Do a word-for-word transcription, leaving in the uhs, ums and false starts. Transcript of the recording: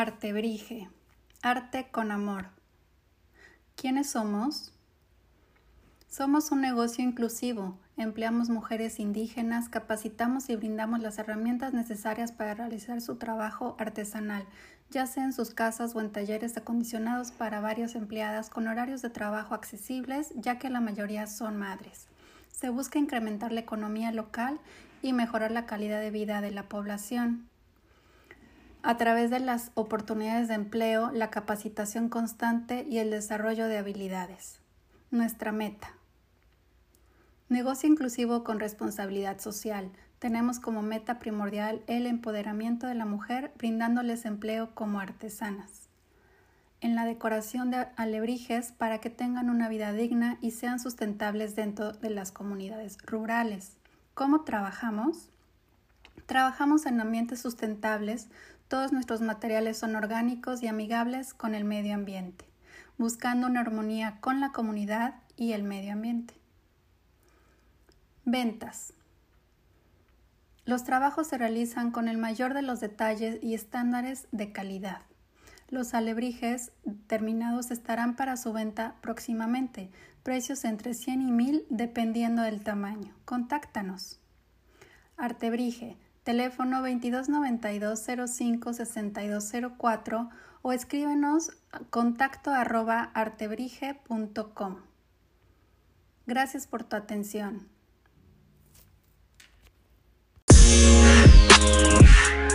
Artebrige, arte con amor. ¿Quiénes somos? Somos un negocio inclusivo. Empleamos mujeres indígenas, capacitamos y brindamos las herramientas necesarias para realizar su trabajo artesanal, ya sea en sus casas o en talleres acondicionados para varias empleadas con horarios de trabajo accesibles, ya que la mayoría son madres. Se busca incrementar la economía local y mejorar la calidad de vida de la población a través de las oportunidades de empleo, la capacitación constante y el desarrollo de habilidades. Nuestra meta. Negocio inclusivo con responsabilidad social. Tenemos como meta primordial el empoderamiento de la mujer, brindándoles empleo como artesanas en la decoración de alebrijes para que tengan una vida digna y sean sustentables dentro de las comunidades rurales. ¿Cómo trabajamos? Trabajamos en ambientes sustentables. Todos nuestros materiales son orgánicos y amigables con el medio ambiente, buscando una armonía con la comunidad y el medio ambiente. Ventas. Los trabajos se realizan con el mayor de los detalles y estándares de calidad. Los alebrijes terminados estarán para su venta próximamente, precios entre cien y mil dependiendo del tamaño. Contáctanos. Artebrige, teléfono veintidós noventa y dos cero cinco sesenta y dos cero cuatro o escríbenos a contacto arroba artebrige punto com. Gracias por tu atención.